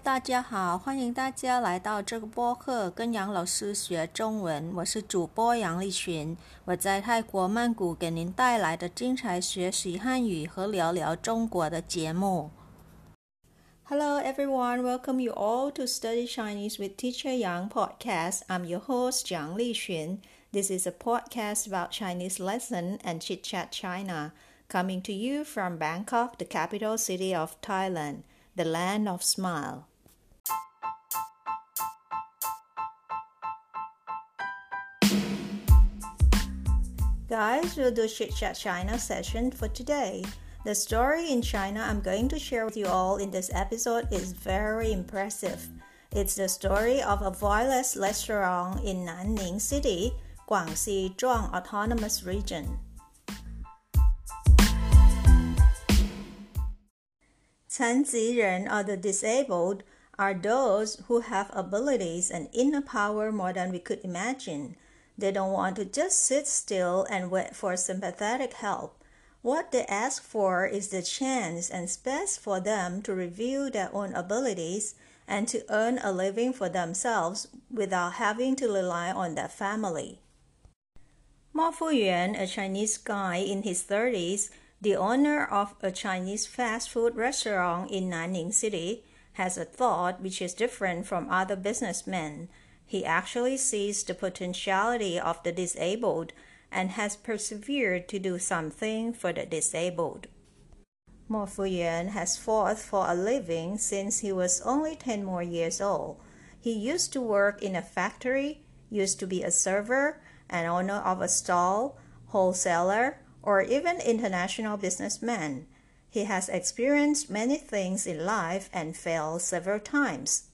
大家好，欢迎大家来到这个播客，跟杨老师学中文。我是主播杨丽群，我在泰国曼谷给您带来的精彩学习汉语和聊聊中国的节目。Hello everyone, welcome you all to Study Chinese with Teacher Yang podcast. I'm your host, Yang Lixun. This is a podcast about Chinese lesson and Chit Chat China, coming to you from Bangkok, the capital city of Thailand, the land of smile. Guys, we'll do Chit Chat China session for today. The story in China I'm going to share with you all in this episode is very impressive. It's the story of a Voiless restaurant in Nanning City, Guangxi Zhuang Autonomous Region. 残疾人 or the disabled are those who have abilities and inner power more than we could imagine. They don't want to just sit still and wait for sympathetic help. What they ask for is the chance and space for them to reveal their own abilities and to earn a living for themselves without having to rely on their family. Mo Fuyuan, a Chinese guy in his 30s, the owner of a Chinese fast food restaurant in Nanning City, has a thought which is different from other businessmen. He actually sees the potentiality of the disabled and has persevered to do something for the disabled. Mo Fuyuan has fought for a living since he was only 10 more years old. He used to work in a factory, used to be a server, an owner of a stall, wholesaler, or even international businessman. He has experienced many things in life and failed several times.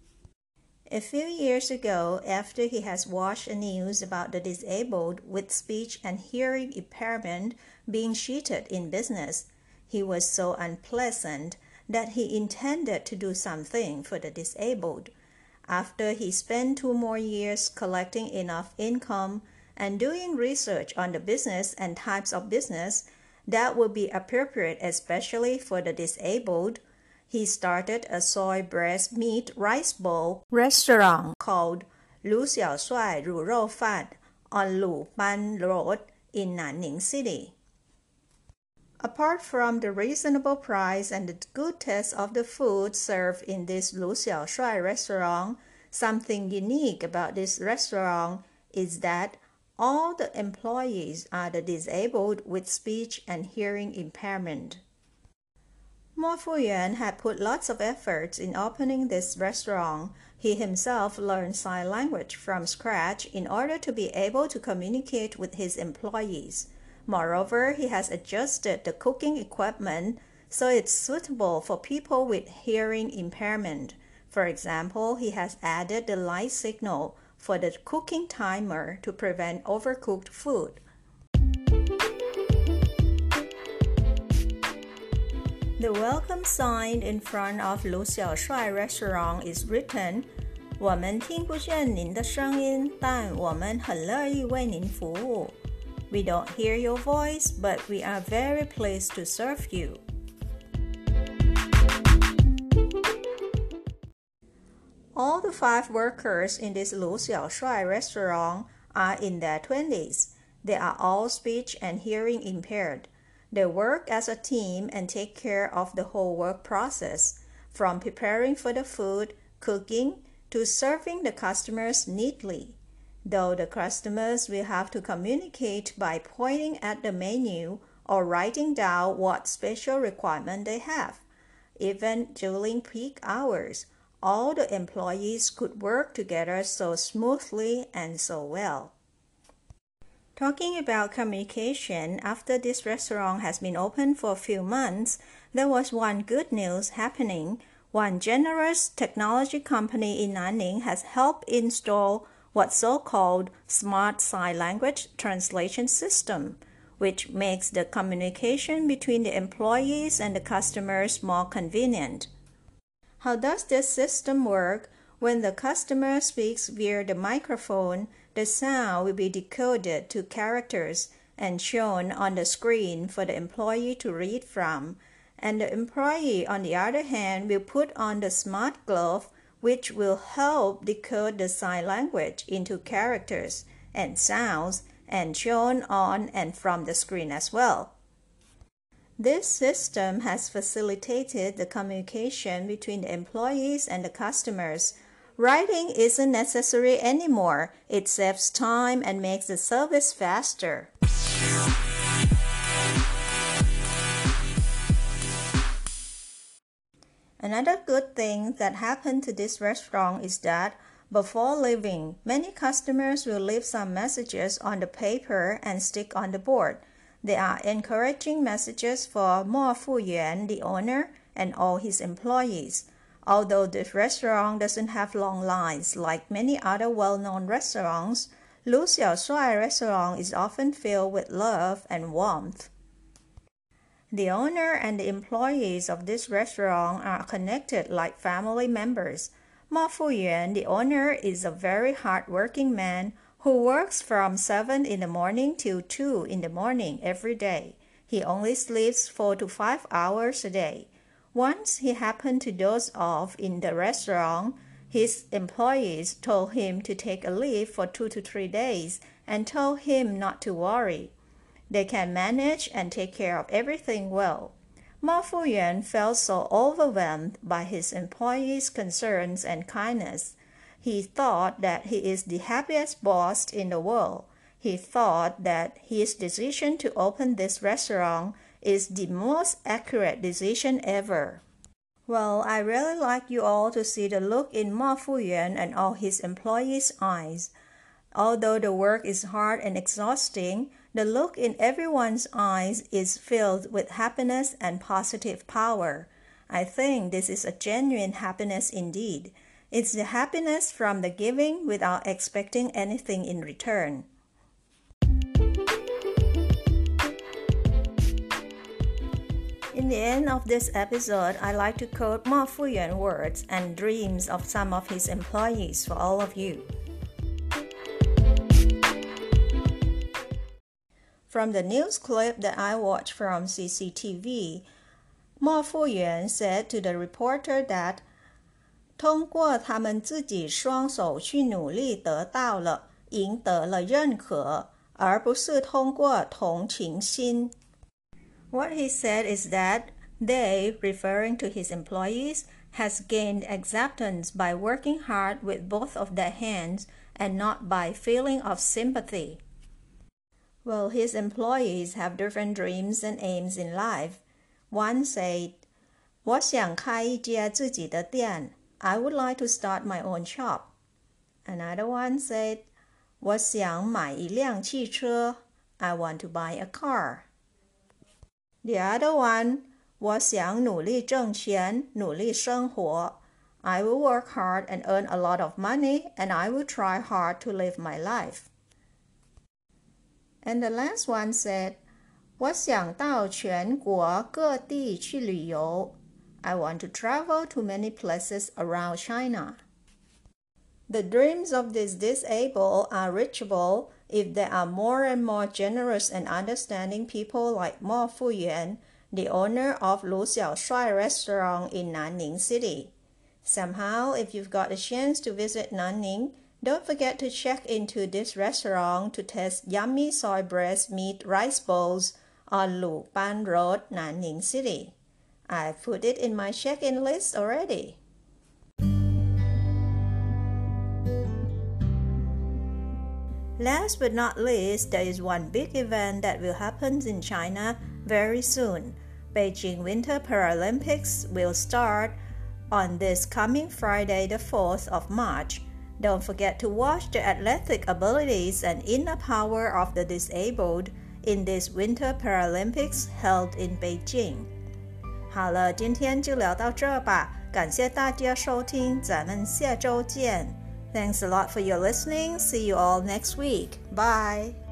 A few years ago, after he has watched the news about the disabled with speech and hearing impairment being cheated in business, he was so unpleasant that he intended to do something for the disabled. After he spent 2 more years collecting enough income and doing research on the business and types of business that would be appropriate especially for the disabled, he started a soy breast meat rice bowl restaurant called Lu Xiao Shuai Ru Rou Fan on Lu Ban Road in Nanning City. Apart from the reasonable price and the good taste of the food served in this Lu Xiao Shuai restaurant, something unique about this restaurant is that all the employees are the disabled with speech and hearing impairment. Mo Fuyuan had put lots of efforts in opening this restaurant. He himself learned sign language from scratch in order to be able to communicate with his employees. Moreover, he has adjusted the cooking equipment so it's suitable for people with hearing impairment. For example, he has added the light signal for the cooking timer to prevent overcooked food. The welcome sign in front of Lu Xiao Shuai restaurant is written, 我们听不见您的声音，但我们很乐意为您服务。We don't hear your voice, but we are very pleased to serve you. All the 5 workers in this Lu Xiao Shuai restaurant are in their 20s. They are all speech and hearing impaired. They work as a team and take care of the whole work process, from preparing for the food, cooking, to serving the customers neatly. Though the customers will have to communicate by pointing at the menu or writing down what special requirement they have. Even during peak hours, all the employees could work together so smoothly and so well. Talking about communication, after this restaurant has been open for a few months, there was one good news happening. One generous technology company in Nanning has helped install what's so-called Smart Sign Language Translation System, which makes the communication between the employees and the customers more convenient. How does this system work? When the customer speaks via the microphone, the sound will be decoded to characters and shown on the screen for the employee to read from, And the employee, on the other hand, will put on the smart glove, which will help decode the sign language into characters and sounds and shown on and from the screen as well. This system has facilitated the communication between the employees and the customers. Writing isn't necessary anymore. It saves time and makes the service faster. Another good thing that happened to this restaurant is that before leaving, many customers will leave some messages on the paper and stick on the board. They are encouraging messages for Mo Fuyuan, the owner, and all his employees. Although this restaurant doesn't have long lines like many other well-known restaurants, Lu Xiaoshuai restaurant is often filled with love and warmth. The owner and the employees of this restaurant are connected like family members. Mo Fuyuan, the owner, is a very hard-working man who works from 7 in the morning till 2 in the morning every day. He only sleeps 4 to 5 hours a day. Once he happened to doze off in the restaurant, his employees told him to take a leave for 2 to 3 days and told him not to worry. They can manage and take care of everything well. Mo Fuyuan felt so overwhelmed by his employees' concerns and kindness. He thought that he is the happiest boss in the world. He thought that his decision to open this restaurant is the most accurate decision ever. Well, I really like you all to see the look in Mo Fuyuan and all his employees' eyes. Although the work is hard and exhausting, the look in everyone's eyes is filled with happiness and positive power. I think this is a genuine happiness indeed. It's the happiness from the giving without expecting anything in return. In the end of this episode, I like to quote Mo Fuyuan words and dreams of some of his employees for all of you. From the news clip that I watched from CCTV, Mo Fuyuan said to the reporter that 通过他们自己双手去努力得到了，赢得了认可，而不是通过同情心。What he said is that they, referring to his employees, has gained acceptance by working hard with both of their hands and not by feeling of sympathy. Well, his employees have different dreams and aims in life. One said, 我想开一家自己的店。I would like to start my own shop. Another one said, 我想买一辆汽车。I want to buy a car. The other one, 我想努力挣钱，努力生活。I will work hard and earn a lot of money, and I will try hard to live my life. And the last one said, 我想到全国各地去旅游。I want to travel to many places around China. The dreams of these disabled are reachable if there are more and more generous and understanding people like Mo Fuyuan, the owner of Lu Xiaoshuai restaurant in Nanning City. Somehow, if you've got a chance to visit Nanning, don't forget to check into this restaurant to taste yummy soy breast meat rice bowls on Lu Ban Road, Nanning City. I've put it in my check-in list already. Last but not least, there is one big event that will happen in China very soon. Beijing Winter Paralympics will start on this coming Friday, the 4th of March. Don't forget to watch the athletic abilities and inner power of the disabled in this Winter Paralympics held in Beijing. 好了，今天就聊到这吧，感谢大家收听，咱们下周见。Thanks a lot for your listening. See you all next week. Bye.